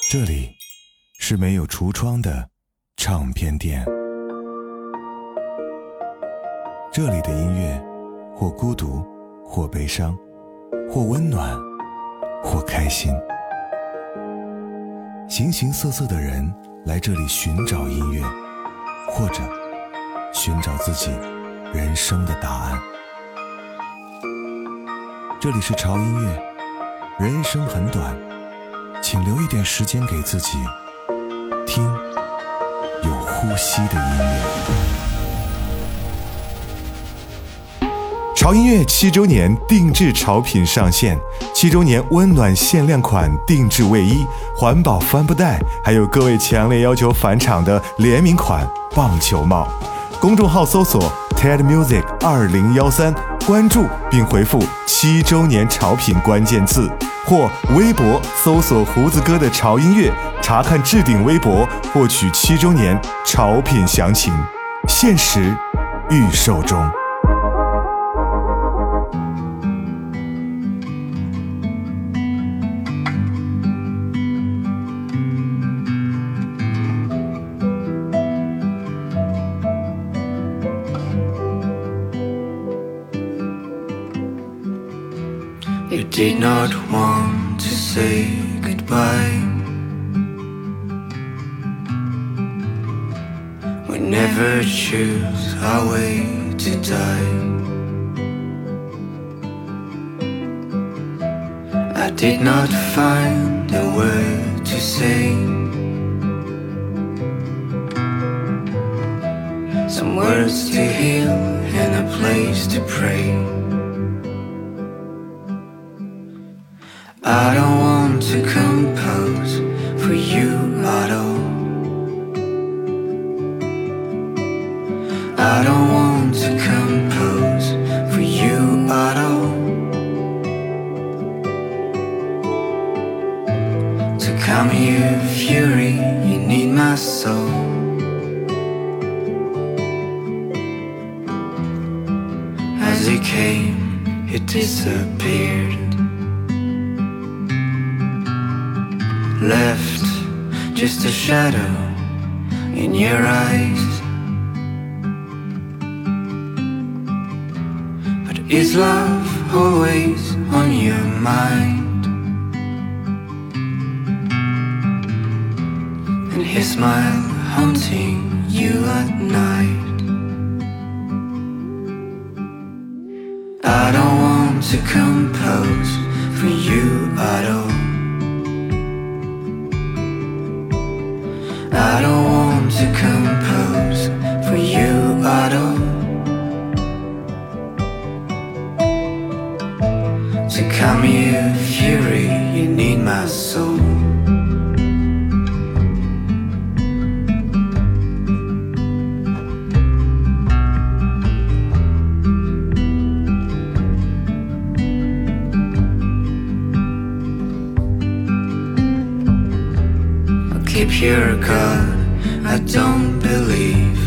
这里是没有橱窗的唱片店，这里的音乐或孤独，或悲伤，或温暖，或开心。形形色色的人来这里寻找音乐，或者寻找自己人生的答案。这里是潮音乐，人生很短，请留一点时间给自己，听有呼吸的音乐。潮音乐7周年定制潮品上线，7周年温暖限量款定制卫衣、环保帆布袋，还有各位强烈要求返场的联名款棒球帽。公众号搜索 TED Music 2013，关注并回复7周年潮品关键字，或微博搜索胡子哥的潮音乐，查看置顶微博，获取7周年潮品详情，限时预售中。 You did not want to say goodbye. We never choose our way to die. I did not find a word to say. Some words to heal and a place to pray. I don't want to compose for you at all. I don't want to compose for you at all. To calm your fury, you need my soul. As it came, it disappeared. Left just a shadow in your eyes. But is love always on your mind? And his smile haunting you at night. I don't want to compose for you at all. I don't want to compose for you at all. To calm your fury, you need my soul. Keep your God, I don't believe.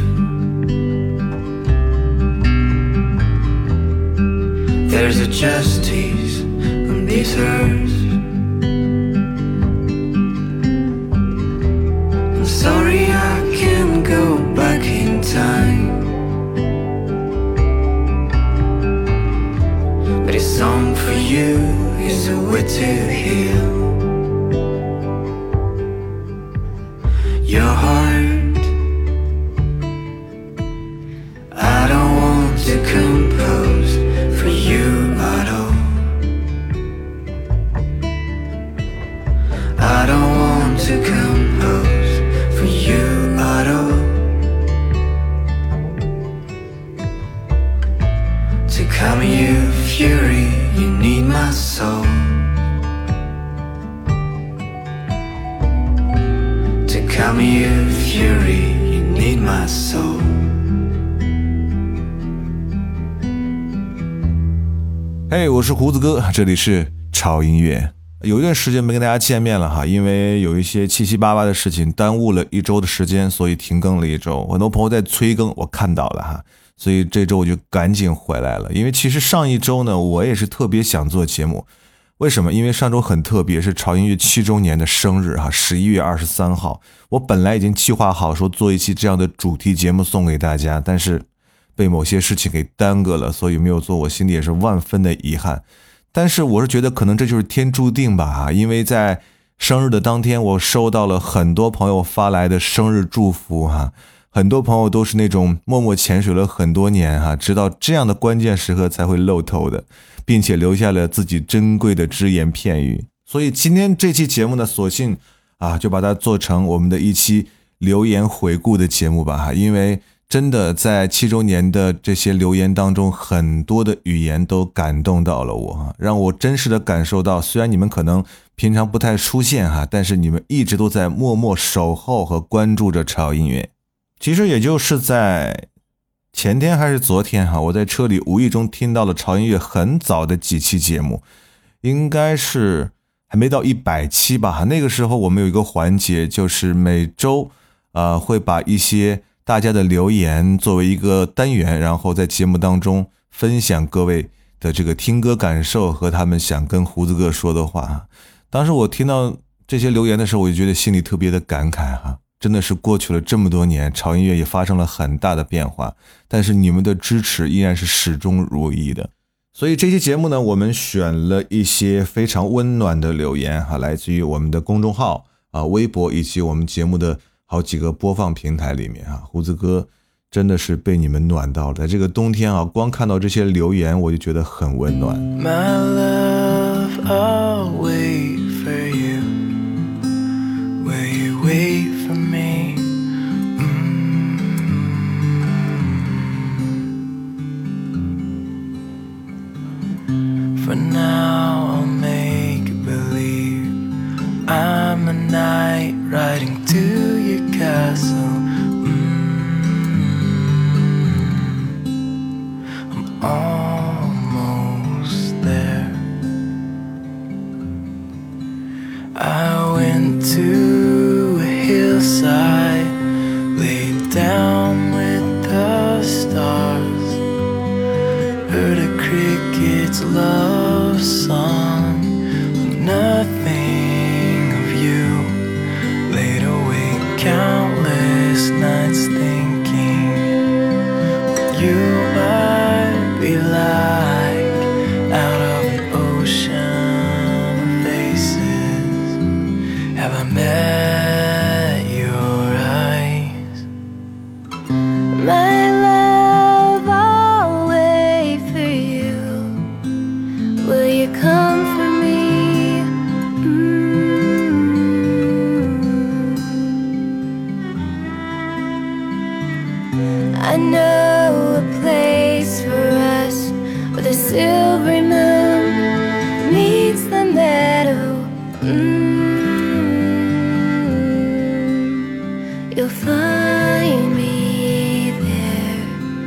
There's a justice on this earth. I'm sorry I can't go back in time, but a song for you is a way to heal your heart. I don't want to compose for you at all. I don't want to compose for you at all. To calm your fury, you need my soul. Calm your fury, you need my soul. 嘿，我是胡子哥，这里是潮音乐。有一段时间没跟大家见面了哈，因为有一些七七八八的事情耽误了1周的时间，所以停更了1周。很多朋友在催更，我看到了哈，所以这周我就赶紧回来了。因为其实上一周呢，我也是特别想做节目， 为什么？因为上周很特别，是潮音乐7周年的生日哈，11月23号。我本来已经计划好说做一期这样的主题节目送给大家，但是被某些事情给耽搁了，所以没有做，我心里也是万分的遗憾。但是我是觉得可能这就是天注定吧，因为在生日的当天，我收到了很多朋友发来的生日祝福哈，很多朋友都是那种默默潜水了很多年哈，直到这样的关键时刻才会露头的，并且留下了自己珍贵的只言片语。所以今天这期节目呢，索性就把它做成我们的一期留言回顾的节目吧，因为真的在7周年的这些留言当中，很多的语言都感动到了我，让我真实的感受到，虽然你们可能平常不太出现但是你们一直都在默默守候和关注着潮音乐。其实也就是在前天还是昨天我在车里无意中听到了潮音乐很早的几期节目，应该是还没到100期吧。那个时候我们有一个环节，就是每周会把一些大家的留言作为一个单元，然后在节目当中分享各位的这个听歌感受和他们想跟胡子哥说的话。当时我听到这些留言的时候，我就觉得心里特别的感慨真的是过去了这么多年，潮音乐也发生了很大的变化，但是你们的支持依然是始终如一的。所以这期节目呢，我们选了一些非常温暖的留言来自于我们的公众号微博以及我们节目的好几个播放平台里面胡子哥真的是被你们暖到了。在这个冬天光看到这些留言我就觉得很温暖。 My love, I'll wait for you. Will you wait for me? For now I'll make believe I'm a knight riding to your castle. I'm almost there. I went to a hillside, laid down with the stars, heard a cricket's love song, nothing of you, laid awake countless nights thinking you might be like out of an ocean of faces. Have I met your eyes? My love, I'll wait for you. Will you come for me? I know a place for us where the silvery moon meets the meadow. You'll find me there.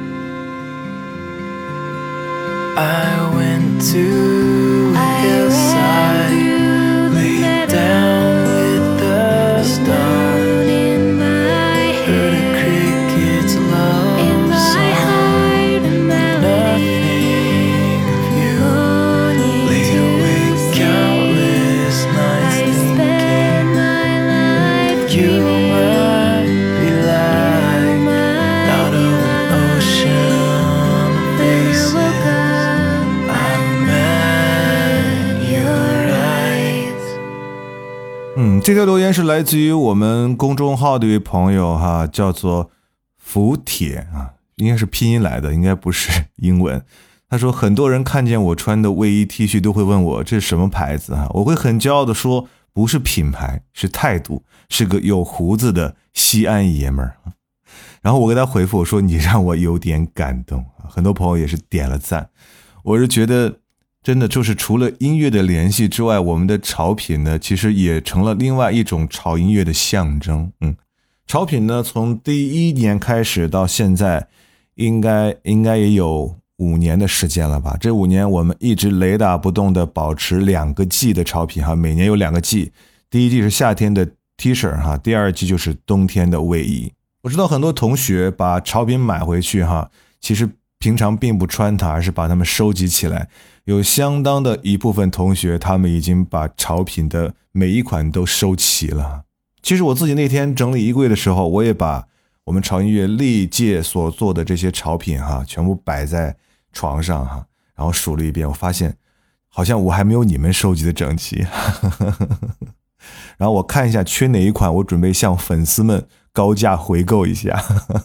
I went to a hillside, laid down with the stars, heard a cricket's love song, nothing of you, laid awake countless nights thinking you might be like out of an ocean of faces. I met your eyes. 这条留言是来自于我们公众号的一位朋友叫做福铁应该是拼音来的，应该不是英文。他说很多人看见我穿的卫衣 T 恤都会问我这是什么牌子我会很骄傲的说不是品牌，是态度，是个有胡子的西安爷们儿。然后我给他回复我说你让我有点感动，很多朋友也是点了赞。我是觉得真的就是除了音乐的联系之外，我们的潮品呢其实也成了另外一种潮音乐的象征。潮品呢从第1年开始到现在应该也有5年的时间了吧。这5年我们一直雷打不动的保持2个季的潮品每年有2个季。第一季是夏天的 T 恤第二季就是冬天的卫衣。我知道很多同学把潮品买回去其实平常并不穿它，而是把它们收集起来。有相当的一部分同学，他们已经把潮品的每一款都收齐了。其实我自己那天整理衣柜的时候，我也把我们潮音乐历届所做的这些潮品全部摆在床上然后数了一遍，我发现好像我还没有你们收集的整齐。然后我看一下缺哪一款，我准备向粉丝们高价回购一下。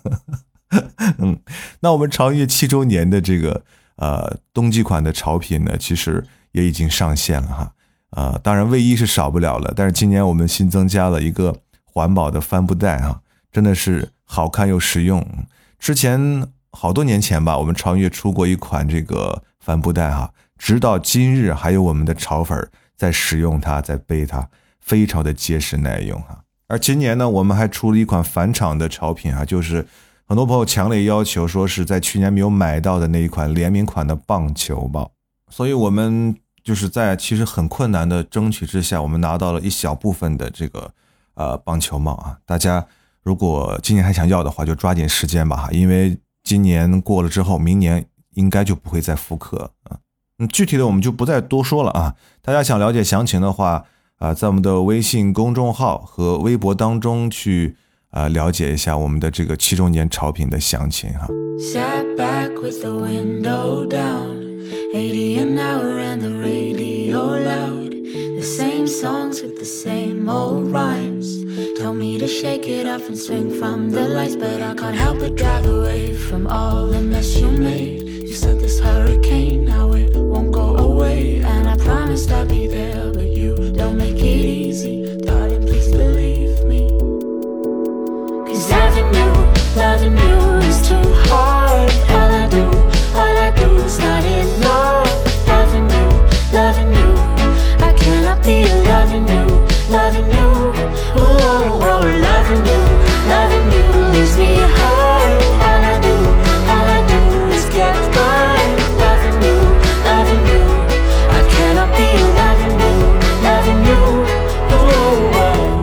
那我们潮音乐7周年的这个冬季款的潮品呢，其实也已经上线了当然卫衣是少不了了，但是今年我们新增加了一个环保的帆布袋真的是好看又实用。之前好多年前吧，我们潮音乐出过一款这个帆布袋直到今日还有我们的潮粉在使用它，在背它，非常的结实耐用而今年呢，我们还出了一款返场的潮品就是很多朋友强烈要求说是在去年没有买到的那一款联名款的棒球帽，所以我们就是在其实很困难的争取之下，我们拿到了一小部分的这个棒球帽大家如果今年还想要的话，就抓紧时间吧因为今年过了之后，明年应该就不会再复刻具体的我们就不再多说了大家想了解详情的话在我们的微信公众号和微博当中去了解一下我们的这个7周年潮品的详情 Sat back with the window down, 80 an hour and the radio loud. The same songs with the same old rhymes. Told me to shake it off and swing from the lights, but I can't help but drive away from all the mess you made. You said this hurricane, now it won't go away, and I promised I'd be there, but you don't make it easy, darling, please believe me. 'Cause loving you is too hard. All I do is not enough. Loving you, I cannot be loving you. Oh, loving you leaves me hard. All I do is get by. Loving you, I cannot be loving you. Oh.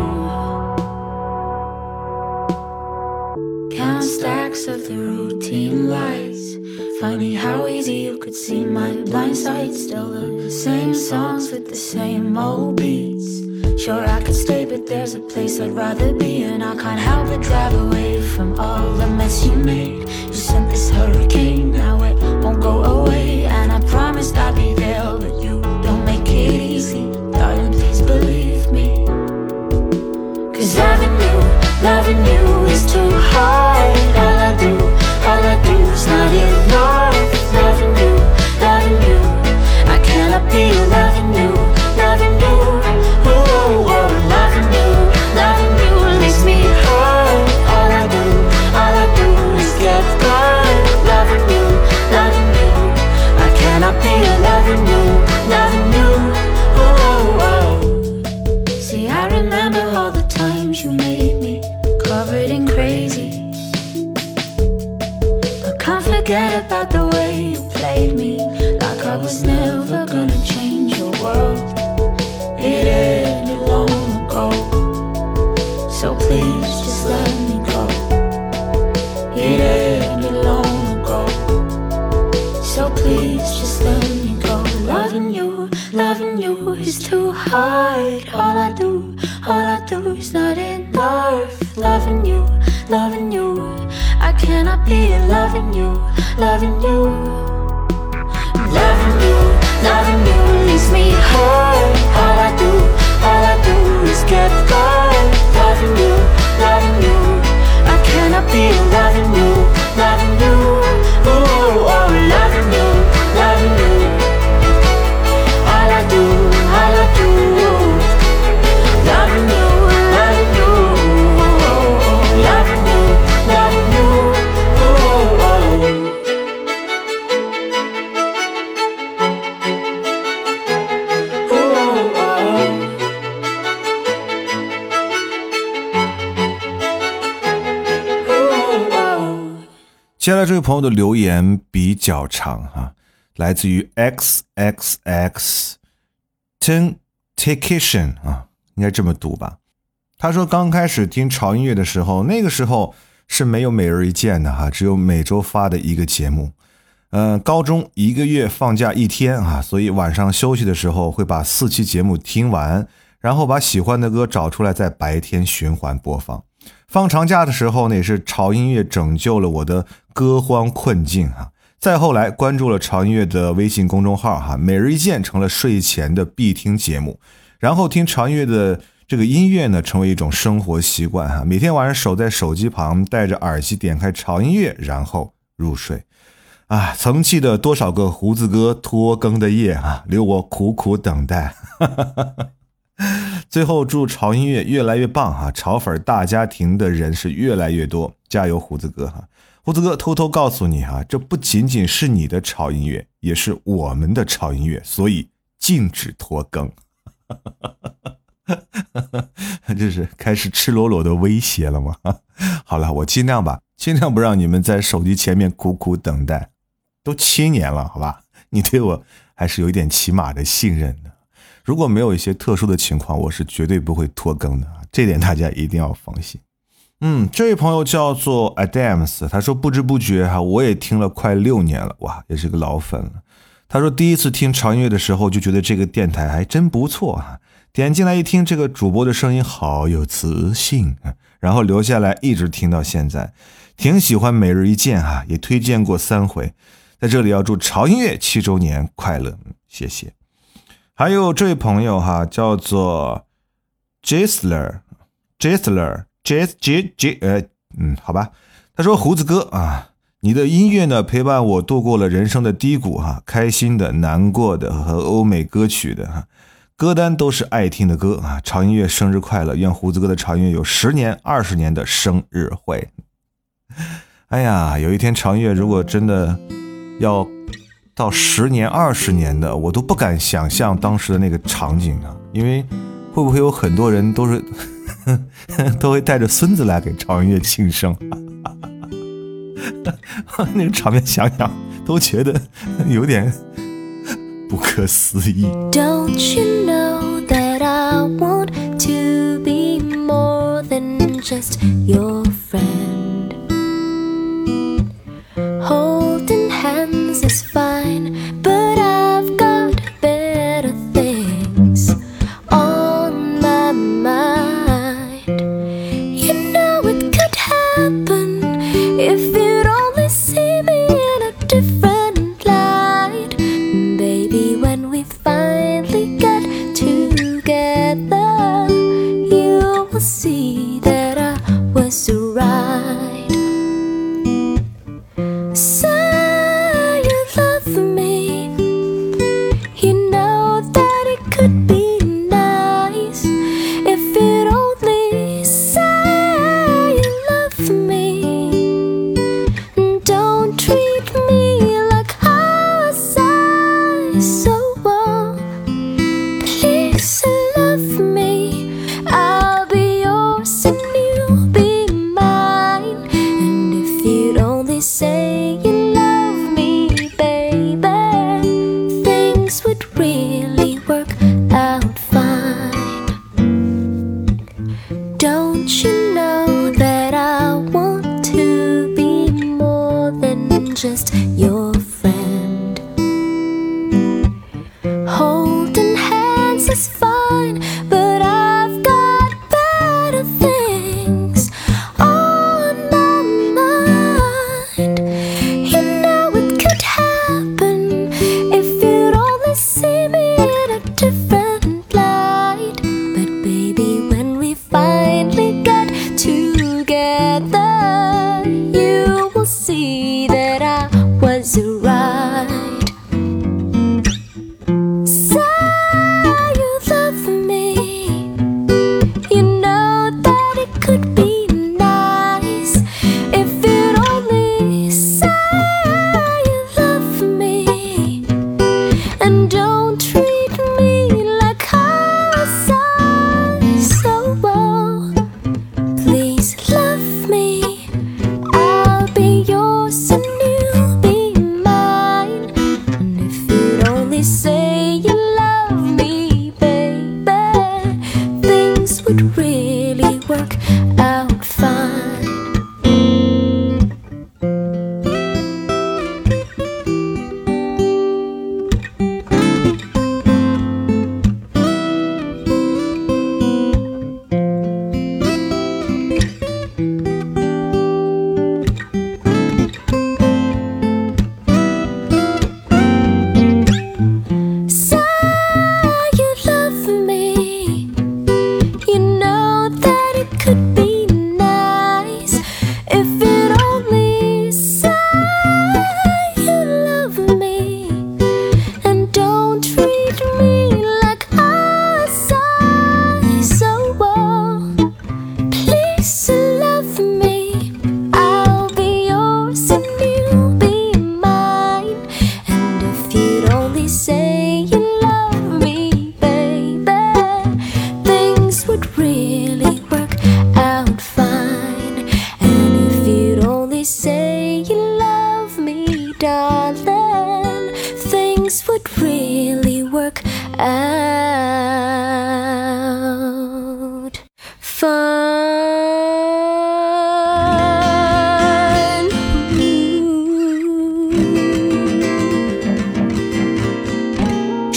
Count stacks of the routine lights. Funny how easy you could see my blind side. Still the same songs with the same old beats. Sure I could stay, but there's a place I'd rather be, and I can't help but drive away from all the mess you made. You sent this hurricane, now it won't go away, and I promised I'd be there, but you don't make it easy, darling, please believe me. 'Cause loving you is too hard. All I do is not enough. Loving you, I cannot be loving you. Oh, loving you leaves me hard. All I do is get by. Loving you, I cannot be loving you. Oh. See, I remember all the times you made me covered in crazy, but can't forget about the way you played me, like I was never gonna change your world. It ended long ago, so please just let me go. It ended long ago, so please just let me go. Loving you is too hard. All I do is not enough. Loving you, I cannot be loving you. Loving you leaves me hard. All I do is get by. Loving you, I cannot be loving you. Oh, loving you. All I do, loving you. Oh, loving you. Oh. 接下来这位朋友的留言比较长来自于 XXX Temptation 应该这么读吧。他说刚开始听潮音乐的时候，那个时候是没有每日一见的只有每周发的一个节目。 高中1个月放假1天啊，所以晚上休息的时候会把4期节目听完，然后把喜欢的歌找出来在白天循环播放。放长假的时候呢，也是潮音乐拯救了我的歌荒困境啊。再后来关注了潮音乐的微信公众号哈，每日一见成了睡前的必听节目，然后听潮音乐的这个音乐呢，成为一种生活习惯哈。每天晚上守在手机旁，戴着耳机点开潮音乐，然后入睡。啊，曾记得多少个胡子哥拖更的夜啊，留我苦苦等待。最后祝潮音乐越来越棒啊！潮粉大家庭的人是越来越多，加油胡子哥哈！胡子哥偷偷告诉你哈，这不仅仅是你的潮音乐，也是我们的潮音乐，所以禁止拖更。这是开始赤裸裸的威胁了吗？好了，我尽量吧，尽量不让你们在手机前面苦苦等待。都7年了，好吧，你对我还是有一点起码的信任的。如果没有一些特殊的情况，我是绝对不会拖更的，这点大家一定要放心。这位朋友叫做 Adams， 他说不知不觉我也听了快6年了，哇，也是个老粉了。他说第一次听潮音乐的时候就觉得这个电台还真不错啊，点进来一听，这个主播的声音好有磁性，然后留下来一直听到现在，挺喜欢每日一见也推荐过3回。在这里要祝潮音乐7周年快乐，谢谢。还有这位朋友叫做 Gisler， 好吧，他说胡子哥啊，你的音乐呢陪伴我度过了人生的低谷开心的、难过的和欧美歌曲的歌单都是爱听的歌啊。潮音乐生日快乐，愿胡子哥的潮音乐有10年、20年的生日会。哎呀，有一天潮音乐如果真的要到10年、20年的，我都不敢想象当时的那个场景啊，因为会不会有很多人都是都会带着孙子来给潮音乐庆生。那个场面想想都觉得有点不可思议。 Don't you know that I want to be more than just your friend? Holding hands is fine, but I've got better things on my mind. You know it could happen if you'd only see me in a different light. Baby, when we finally get together, you will see that I was right. So you love me, you know that it could be nice if you'd only say you love me. Don't treat me like how I say so. Please love me, I'll be yours and you'll be mine. And if you'd only say you love me, baby, things would really work out fine. Don't you know that I want to be more than just your friend? Holding hands is fine, but I've got better things on my mind. You know it could happen if you'd only see me in a different light. But baby, when we finally get together, you will see that I was right. So you love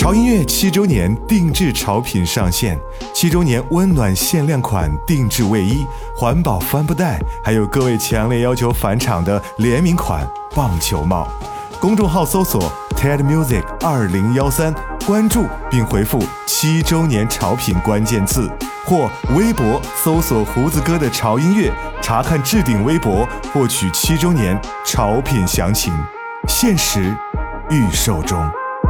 潮音乐7周年定制潮品上线，7周年温暖限量款定制卫衣、环保帆布袋，还有各位强烈要求返场的联名款棒球帽。公众号搜索 TED Music 2013，关注并回复7周年潮品关键字，或微博搜索胡子哥的潮音乐，查看置顶微博，获取7周年潮品详情，限时预售中。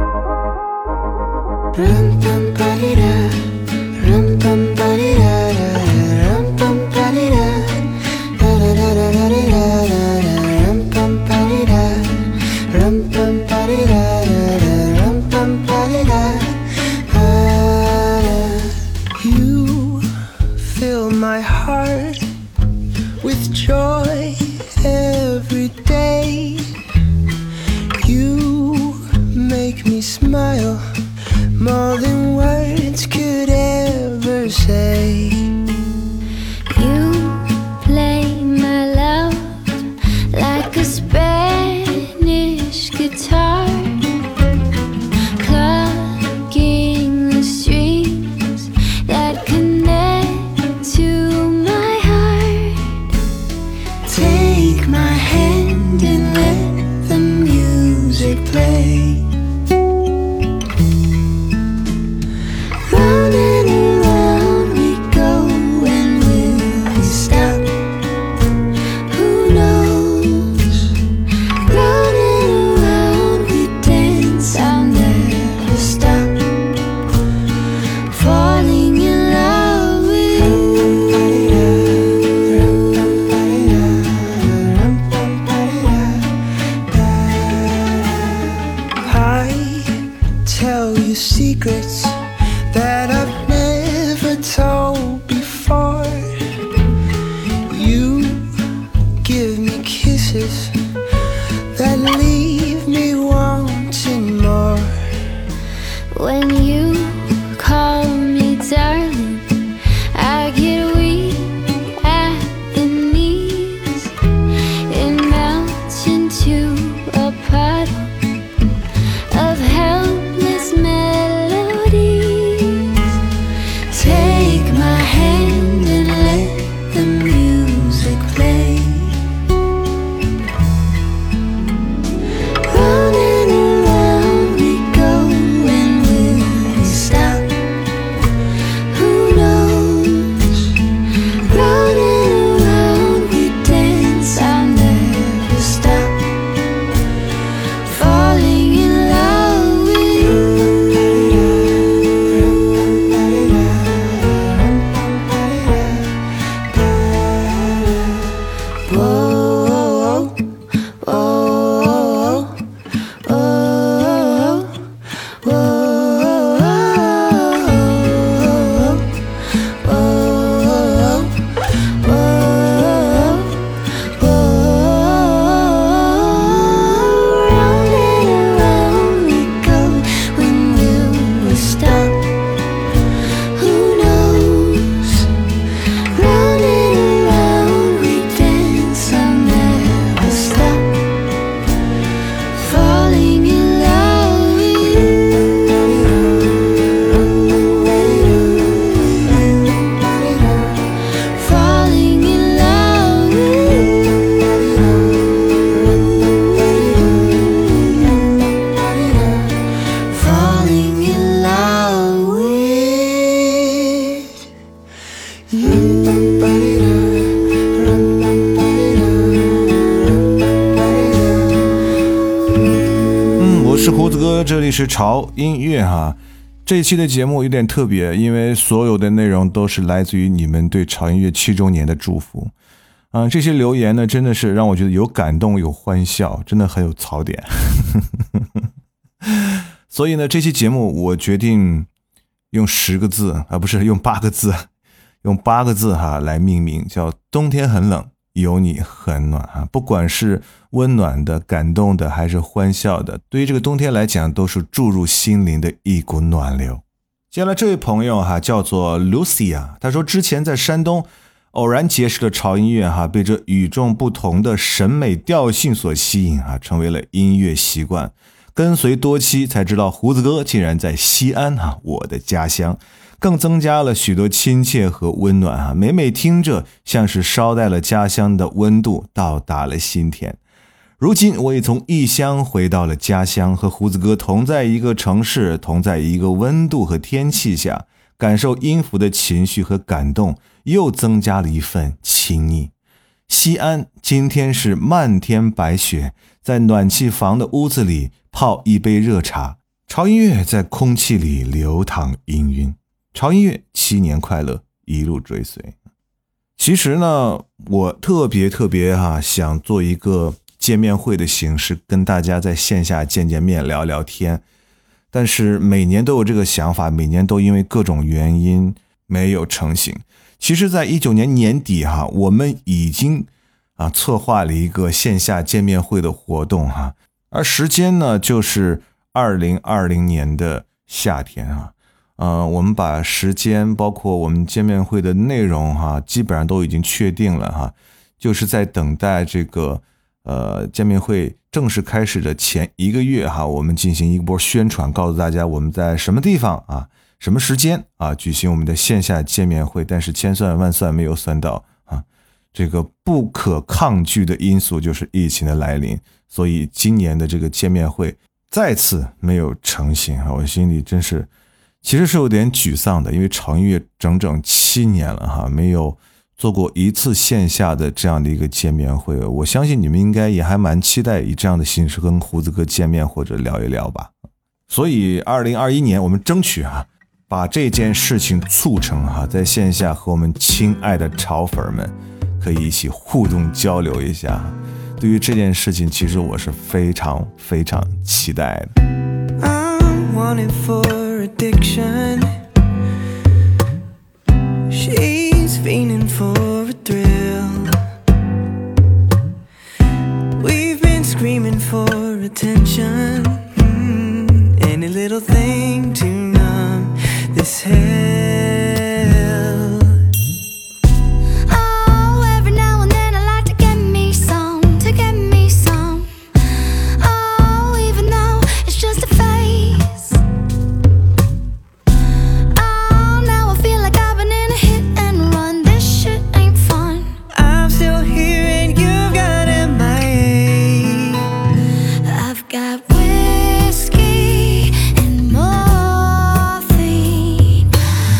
You fill my heart with joy every day. You make me smile more than words could ever say. You play my love like a Spanish guitar, plucking the strings that connect to my heart. Take my hand and let the music play. Round and around we go, and will we stop? Who knows? Round and around we dance, I'll never stop falling in love with you. I tell you secrets that I've never told before. You give me kisses that leave me wanting more. When you call me darling, I get weak at the knees. It melts into a puddle of helpless melodies. Take my hand and let the music play. Round and around we go, and will we stop? Who knows? Round and around we dance, I'll never stop falling in love with you. Whoa, whoa, whoa, Round and around we go, when will we stop? Who knows? Round and around we dance, I'll never stop falling in love with you. Falling in love with you. Falling in love with you. 我是胡子哥，这里是潮音乐哈。这一期的节目有点特别，因为所有的内容都是来自于你们对潮音乐7周年的祝福。这些留言呢，真的是让我觉得有感动，有欢笑，真的很有槽点。所以呢，这期节目我决定用10个字，不是用8个字，用8个字哈来命名，叫冬天很冷，有你很暖啊。不管是温暖的、感动的，还是欢笑的，对于这个冬天来讲，都是注入心灵的一股暖流。接下来这位朋友哈，叫做 Lucia， 他说之前在山东偶然结识了潮音乐哈，被这与众不同的审美调性所吸引啊，成为了音乐习惯。 跟随多期才知道胡子哥竟然在西安我的家乡，更增加了许多亲切和温暖每每听着像是捎带了家乡的温度到达了心田。如今我也从异乡回到了家乡，和胡子哥同在一个城市，同在一个温度和天气下，感受音符的情绪和感动，又增加了一份亲昵。西安今天是漫天白雪，在暖气房的屋子里泡一杯热茶，潮音乐在空气里流淌氤氲。潮音乐7年快乐，一路追随。其实呢，我特别想做一个见面会的形式，跟大家在线下见见面聊聊天，但是每年都有这个想法，每年都因为各种原因没有成型。其实在19年年底我们已经策划了一个线下见面会的活动而时间呢就是2020年的夏天我们把时间包括我们见面会的内容基本上都已经确定了就是在等待这个见面会正式开始的前1个月我们进行一波宣传，告诉大家我们在什么地方什么时间举行我们的线下见面会。但是千算万算没有算到这个不可抗拒的因素就是疫情的来临，所以今年的这个见面会再次没有成型我心里真是其实是有点沮丧的，因为潮音乐整整7年了没有做过一次线下的这样的一个见面会。我相信你们应该也还蛮期待以这样的形式跟胡子哥见面或者聊一聊吧。所以2021年我们争取把这件事情促成在线下和我们亲爱的潮粉们可以一起互动交流一下。对于这件事情其实我是非常期待的。 I'm wanted for addiction. She's fiending for a thrill. We've been screaming for attention. Any little thing to numb this hell. Oh, every now and then I like to get me some. Oh, even though it's just a phase. Oh, now I feel like I've been in a hit and run. This shit ain't fun. I'm still here and you've got MIA. I've got whiskey and morphine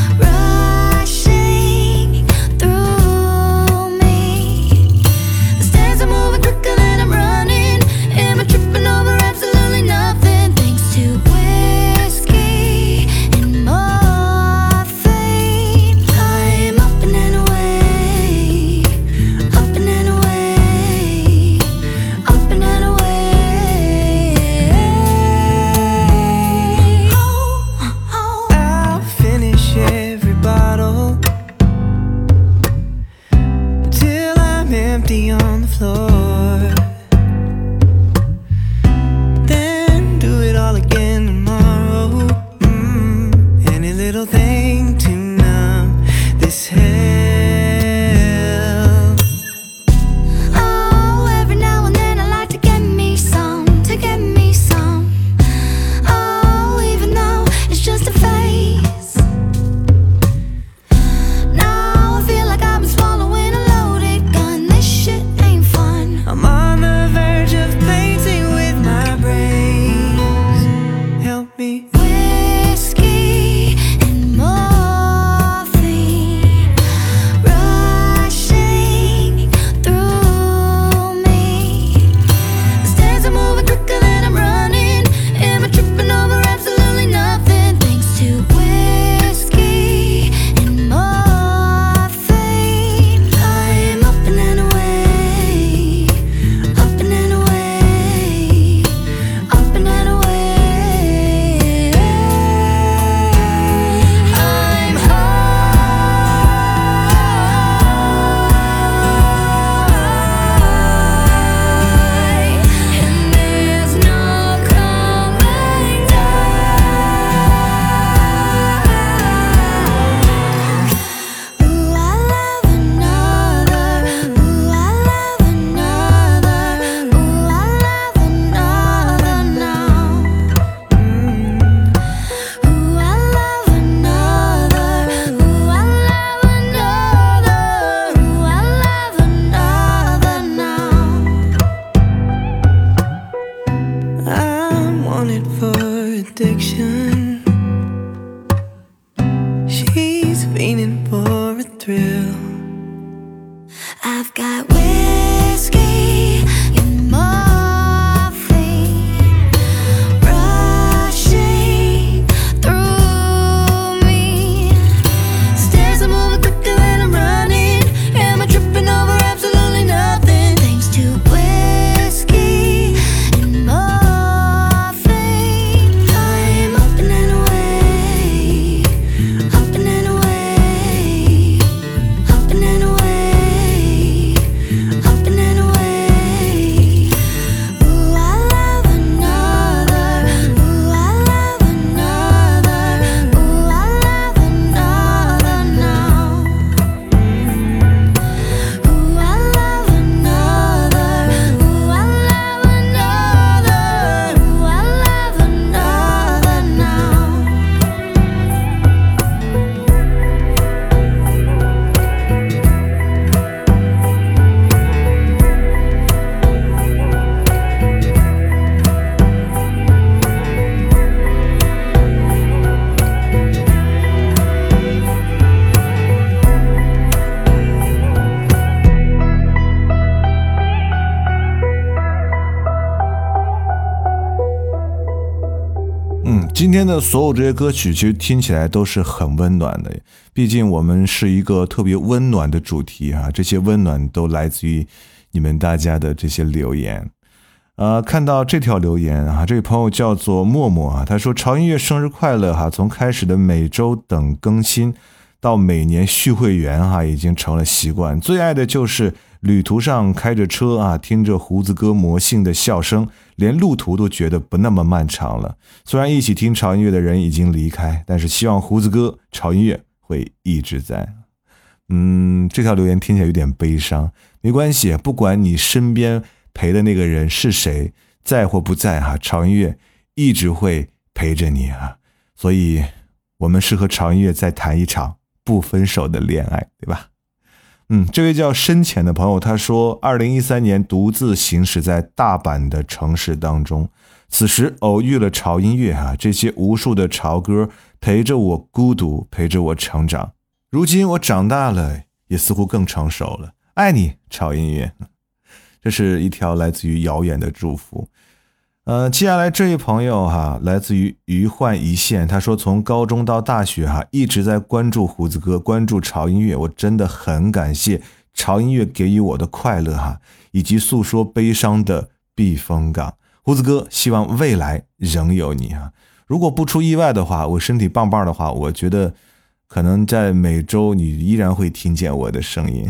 rushing through me. The stairs are moving quicker than I'm running. Am I tripping over absolutely nothing? Thanks to whiskey and morphine, I'm up and away, up and away, up and away. I'll finish every bottle till I'm empty on the floor. Then do it all again tomorrow. Any little thing to numb this hell. Oh, every now and then I like to get me some. Oh, even though it's just a phase. Now I feel like I've been swallowing a loaded gun. This shit ain't fun. I'm on the verge of painting with my brains. Help me. Whiskey and 今天的所有这些歌曲其实听起来都是很温暖的，毕竟我们是一个特别温暖的主题啊，这些温暖都来自于你们大家的这些留言。看到这条留言啊，这位朋友叫做默默啊，他说潮音乐生日快乐哈，从开始的每周等更新到每年续会员哈，已经成了习惯。最爱的就是旅途上开着车啊，听着胡子哥魔性的笑声，连路途都觉得不那么漫长了。虽然一起听潮音乐的人已经离开，但是希望胡子哥潮音乐会一直在。这条留言听起来有点悲伤，没关系，不管你身边陪的那个人是谁，在或不在哈，潮音乐一直会陪着你啊。所以我们是和潮音乐再谈一场不分手的恋爱，对吧？这位叫深浅的朋友他说2013年独自行驶在大阪的城市当中，此时偶遇了潮音乐啊，这些无数的潮歌陪着我孤独，陪着我成长。如今我长大了，也似乎更成熟了，爱你潮音乐。这是一条来自于遥远的祝福。接下来这位朋友哈，来自于余幻一线，他说从高中到大学哈，一直在关注胡子哥，关注潮音乐，我真的很感谢潮音乐给予我的快乐哈，以及诉说悲伤的避风港。胡子哥，希望未来仍有你啊！如果不出意外的话，我身体棒棒的话，我觉得可能在每周你依然会听见我的声音。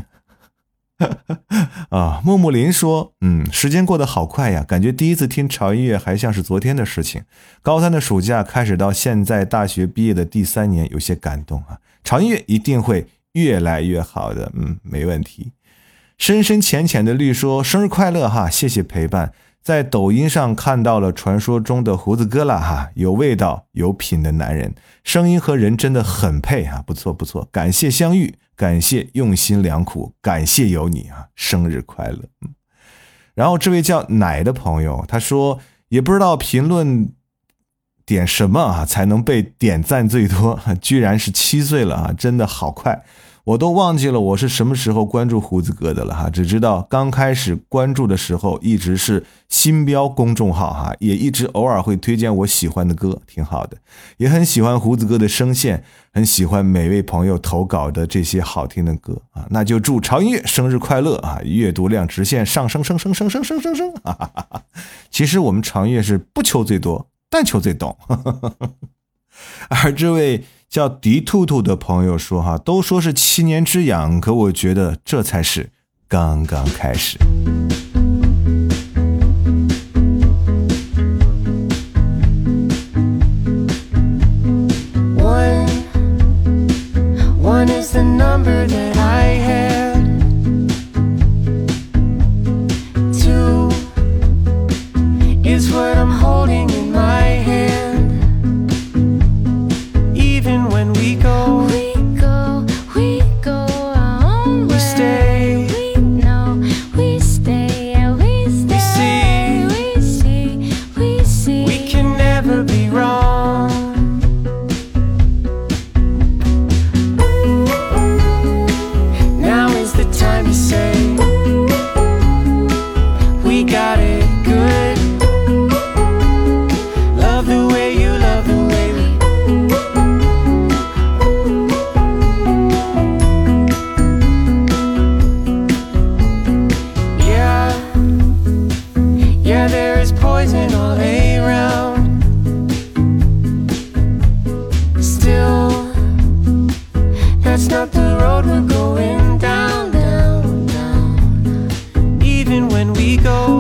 木木林说时间过得好快呀，感觉第一次听潮音乐还像是昨天的事情。高三的暑假开始到现在大学毕业的第3年，有些感动啊。潮音乐一定会越来越好的，没问题。深深浅浅的绿说生日快乐哈，谢谢陪伴。在抖音上看到了传说中的胡子哥了哈，有味道有品的男人，声音和人真的很配啊，不错不错，感谢相遇，感谢用心良苦，感谢有你啊，生日快乐。然后这位叫奶的朋友他说也不知道评论点什么啊才能被点赞最多，居然是7岁了啊，真的好快，我都忘记了我是什么时候关注胡子哥的了哈，只知道刚开始关注的时候一直是新标公众号哈，也一直偶尔会推荐我喜欢的歌，挺好的，也很喜欢胡子哥的声线，很喜欢每位朋友投稿的这些好听的歌啊，那就祝潮音乐生日快乐啊，阅读量直线上升升升升升升升升，其实我们潮音乐是不求最多，但求最懂。而这位叫迪兔兔的朋友说哈，都说是7年之痒，可我觉得这才是刚刚开始。 One is the number that I had. 2 is what I'm holding in my hand. Even when we go our own way. We stay. We know we stay. We stay. We see. We can never be wrong. Now is the time to say we got it good. Love the way you love the way we. Yeah, there is poison all around. Still, that's not the road we're going down, down, down. Even when we go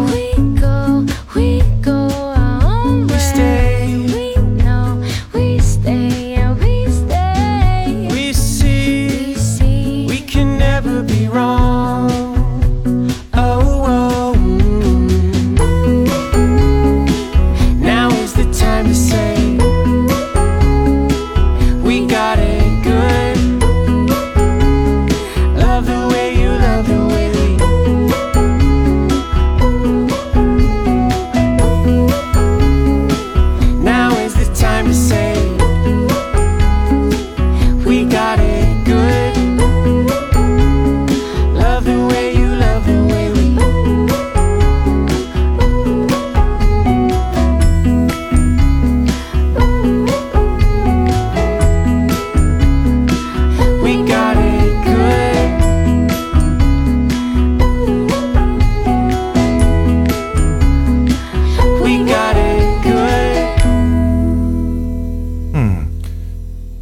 our own way. We stay. We know we stay, and we stay. We see. We can never be wrong. Oh. Now is the time to say we got it good. Love the way you love the way we. Now is the time to say we got it good. Love the way you love the way we.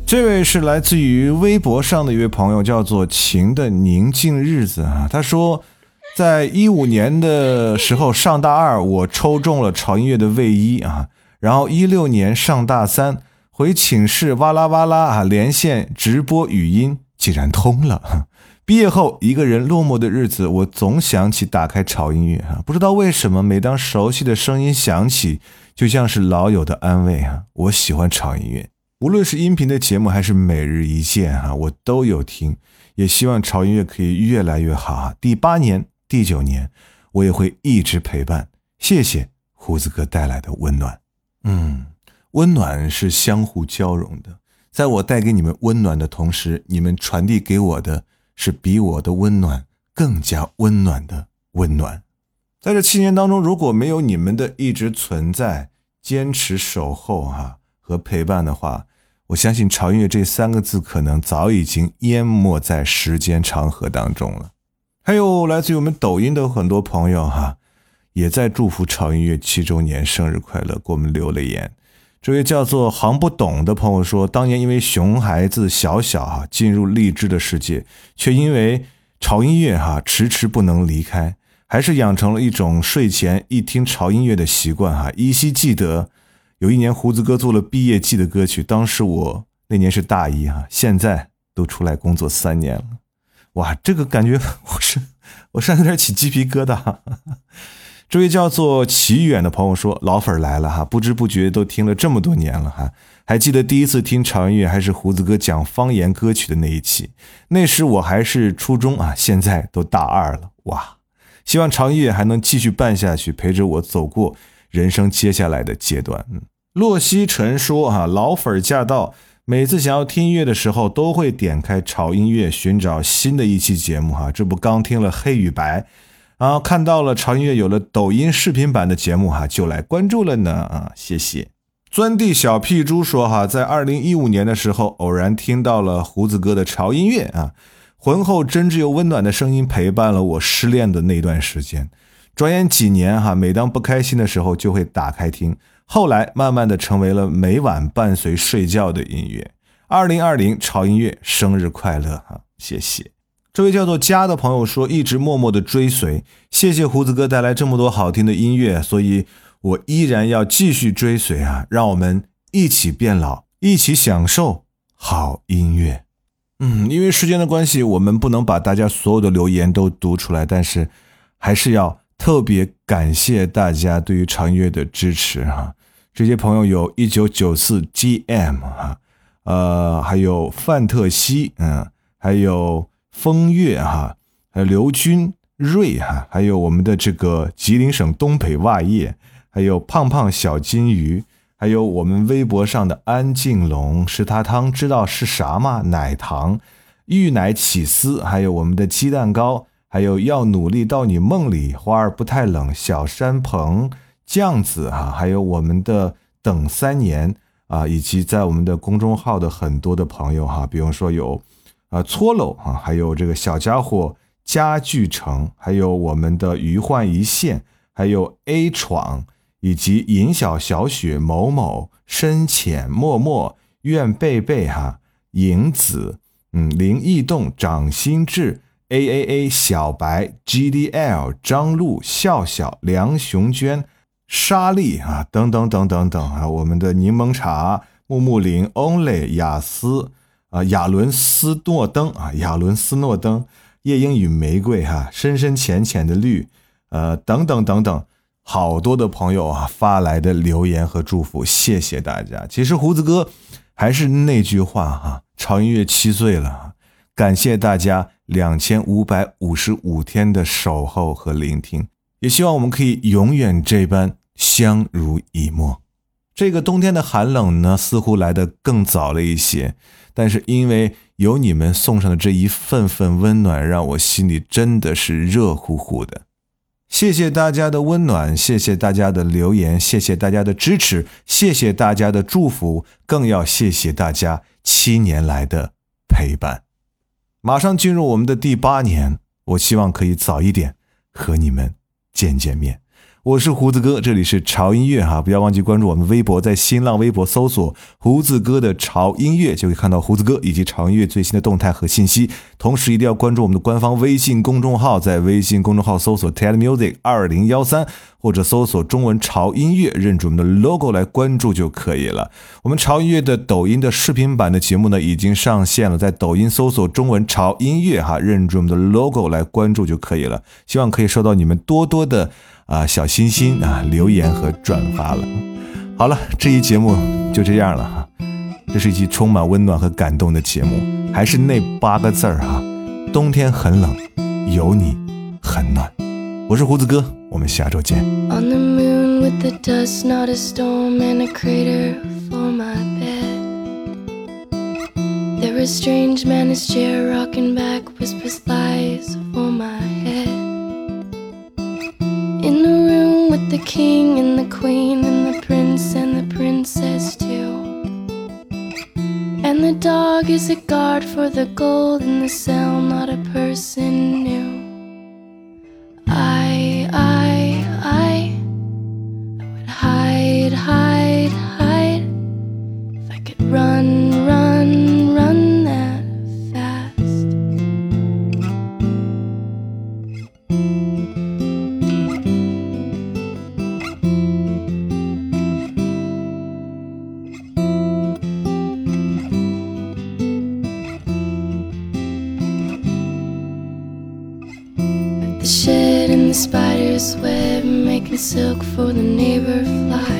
这位是来自于微博上的一位朋友，叫做情的宁静日子啊。他说，在15年的时候上大2，我抽中了潮音乐的卫衣啊。然后16年上大3，回寝室哇啦哇啦啊，连线直播语音竟然通了。毕业后一个人落寞的日子，我总想起打开潮音乐啊，不知道为什么，每当熟悉的声音响起，就像是老友的安慰啊。我喜欢潮音乐，无论是音频的节目还是每日一见啊，我都有听，也希望潮音乐可以越来越好啊。第8年、第9年，我也会一直陪伴。谢谢胡子哥带来的温暖。温暖是相互交融的，在我带给你们温暖的同时，你们传递给我的是比我的温暖更加温暖的温暖。在这7年当中，如果没有你们的一直存在、坚持守候和陪伴的话，我相信潮音乐这3个字可能早已经淹没在时间长河当中了。还有来自于我们抖音的很多朋友也在祝福潮音乐7周年生日快乐，给我们留了言。这位叫做行不懂的朋友说，当年因为熊孩子小进入荔枝的世界，却因为潮音乐迟迟不能离开，还是养成了一种睡前一听潮音乐的习惯依稀记得有一年胡子哥做了毕业季的歌曲，当时我那年是大1现在都出来工作3年了。哇，这个感觉我上有点起鸡皮疙瘩。这位叫做奇远的朋友说，老粉来了不知不觉都听了这么多年了还记得第一次听潮音乐还是胡子哥讲方言歌曲的那一期，那时我还是初中现在都大2了。哇，希望潮音乐还能继续办下去，陪着我走过人生接下来的阶段。洛西晨说老粉驾到，每次想要听音乐的时候都会点开潮音乐寻找新的一期节目这不刚听了黑与白，然后看到了潮音乐有了抖音视频版的节目就来关注了呢谢谢。钻地小屁猪说在2015年的时候偶然听到了胡子哥的潮音乐浑厚真挚又温暖的声音陪伴了我失恋的那段时间，转眼几年每当不开心的时候就会打开听，后来慢慢的成为了每晚伴随睡觉的音乐。2020潮音乐生日快乐谢谢。这位叫做家的朋友说，一直默默的追随，谢谢胡子哥带来这么多好听的音乐，所以我依然要继续追随让我们一起变老，一起享受好音乐。因为时间的关系，我们不能把大家所有的留言都读出来，但是还是要特别感谢大家对于潮音乐的支持这些朋友有1994 GM 还有范特西还有风月还有刘军瑞还有我们的这个吉林省东北袜叶，还有胖胖小金鱼，还有我们微博上的安静龙、石塔汤知道是啥吗？奶糖、玉奶起司，还有我们的鸡蛋糕，还有要努力到你梦里、花儿不太冷、小山鹏、酱子还有我们的等3年以及在我们的公众号的很多的朋友比方说有搓楼还有这个小家伙家具城，还有我们的余幻一线，还有 A 闯，以及银小小雪某某深浅默默愿贝贝影子林异动掌心智 AAA 小白 GDL 张璐笑笑梁雄娟莎莉等等等等等我们的柠檬茶木木林 Only 雅思亚伦斯诺登亚伦斯诺登夜莺与玫瑰深深浅浅的绿等等等等，好多的朋友发来的留言和祝福，谢谢大家。其实胡子哥还是那句话潮音乐7岁了，感谢大家2555天的守候和聆听，也希望我们可以永远这般相濡以沫。这个冬天的寒冷呢，似乎来得更早了一些，但是因为有你们送上的这一份份温暖，让我心里真的是热乎乎的。谢谢大家的温暖，谢谢大家的留言，谢谢大家的支持，谢谢大家的祝福，更要谢谢大家7年来的陪伴。马上进入我们的第8年，我希望可以早一点和你们见面。 我是胡子哥，这里是潮音乐哈，不要忘记关注我们微博，在新浪微博搜索胡子哥的潮音乐，就可以看到胡子哥以及潮音乐最新的动态和信息。同时一定要关注我们的官方微信公众号，在微信公众号搜索 TEDmusic2013，或者搜索中文潮音乐，认准我们的 logo 来关注就可以了。我们潮音乐的抖音的视频版的节目呢已经上线了，在抖音搜索中文潮音乐哈，认准我们的 logo 来关注就可以了。希望可以收到你们多多的小心心留言和转发了。好了，这一节目就这样了哈。这是一期充满温暖和感动的节目，还是那8个字哈，冬天很冷，有你很暖。我是胡子哥，我们下周见。 On the moon with the dust, not a storm and a crater for my bed. There a strange man, his chair rocking back, whispers lies for my head. In the room with the king and the queen and the prince and the princess too. And the dog is a guard for the gold in the cell, not a person new. I would hide, hide, hide if I could run, run, run that fast. At the shed in the spider's web, making silk for the neighbor fly.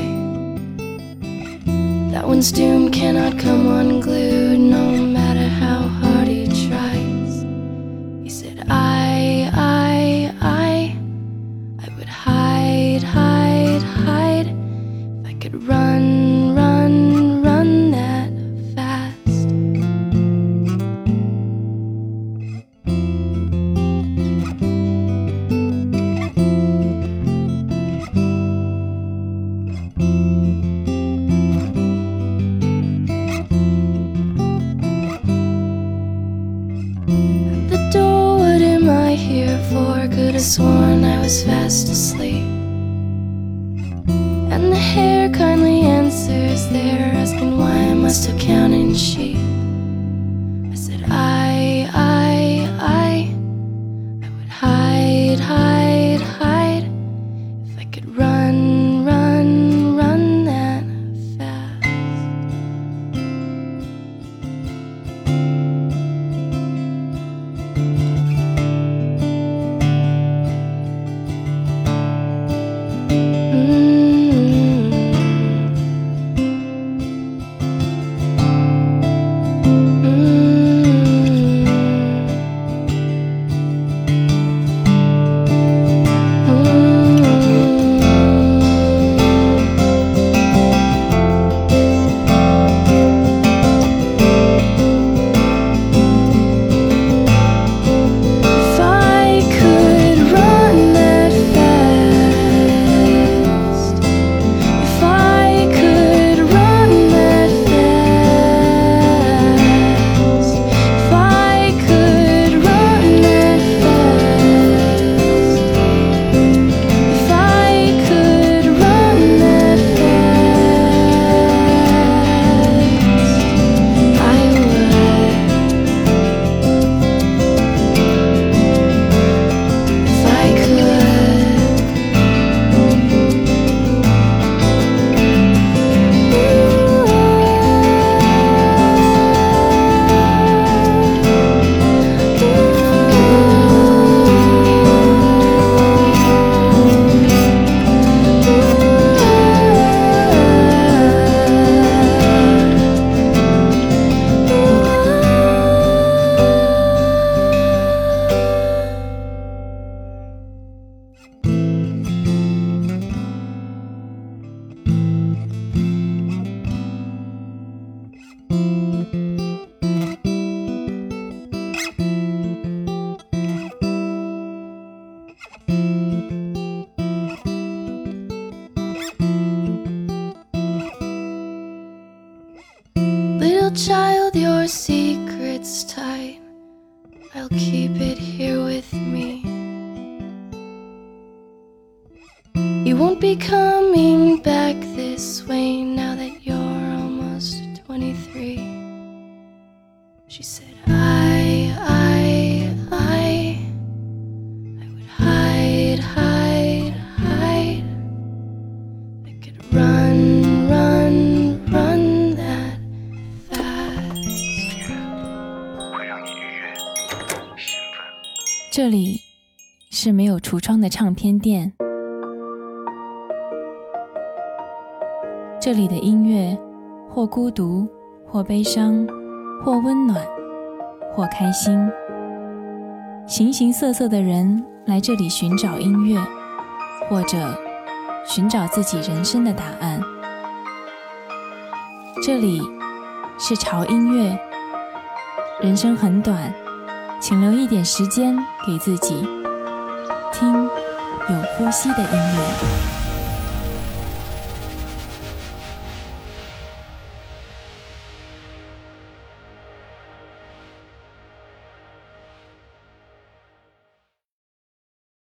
That one's doom cannot come unglued, no matter how hard he tries. He said, I would hide, hide, hide if I could run, run, run that fast. At the door, what am I here for? Could have sworn I was fast asleep. And the hare kindly answers there, asking why am I still counting sheep. I said I would hide, hide, hide if I could run, run, run that fast. If I could run that fast, if I could run that fast, if I could run that fast, if I could run that fast, I would. If I Little child, your secret's tight. I'll keep it here with me. You be coming back this way now that you're almost 23. She said, I would hide. I could run that fast. 会让你愉悦、兴奋。 这里是没有橱窗的唱片店，这里的音乐或孤独，或悲伤，或温暖，或开心。形形色色的人来这里寻找音乐，或者寻找自己人生的答案。这里是潮音乐，人生很短，请留一点时间给自己，听有呼吸的音乐。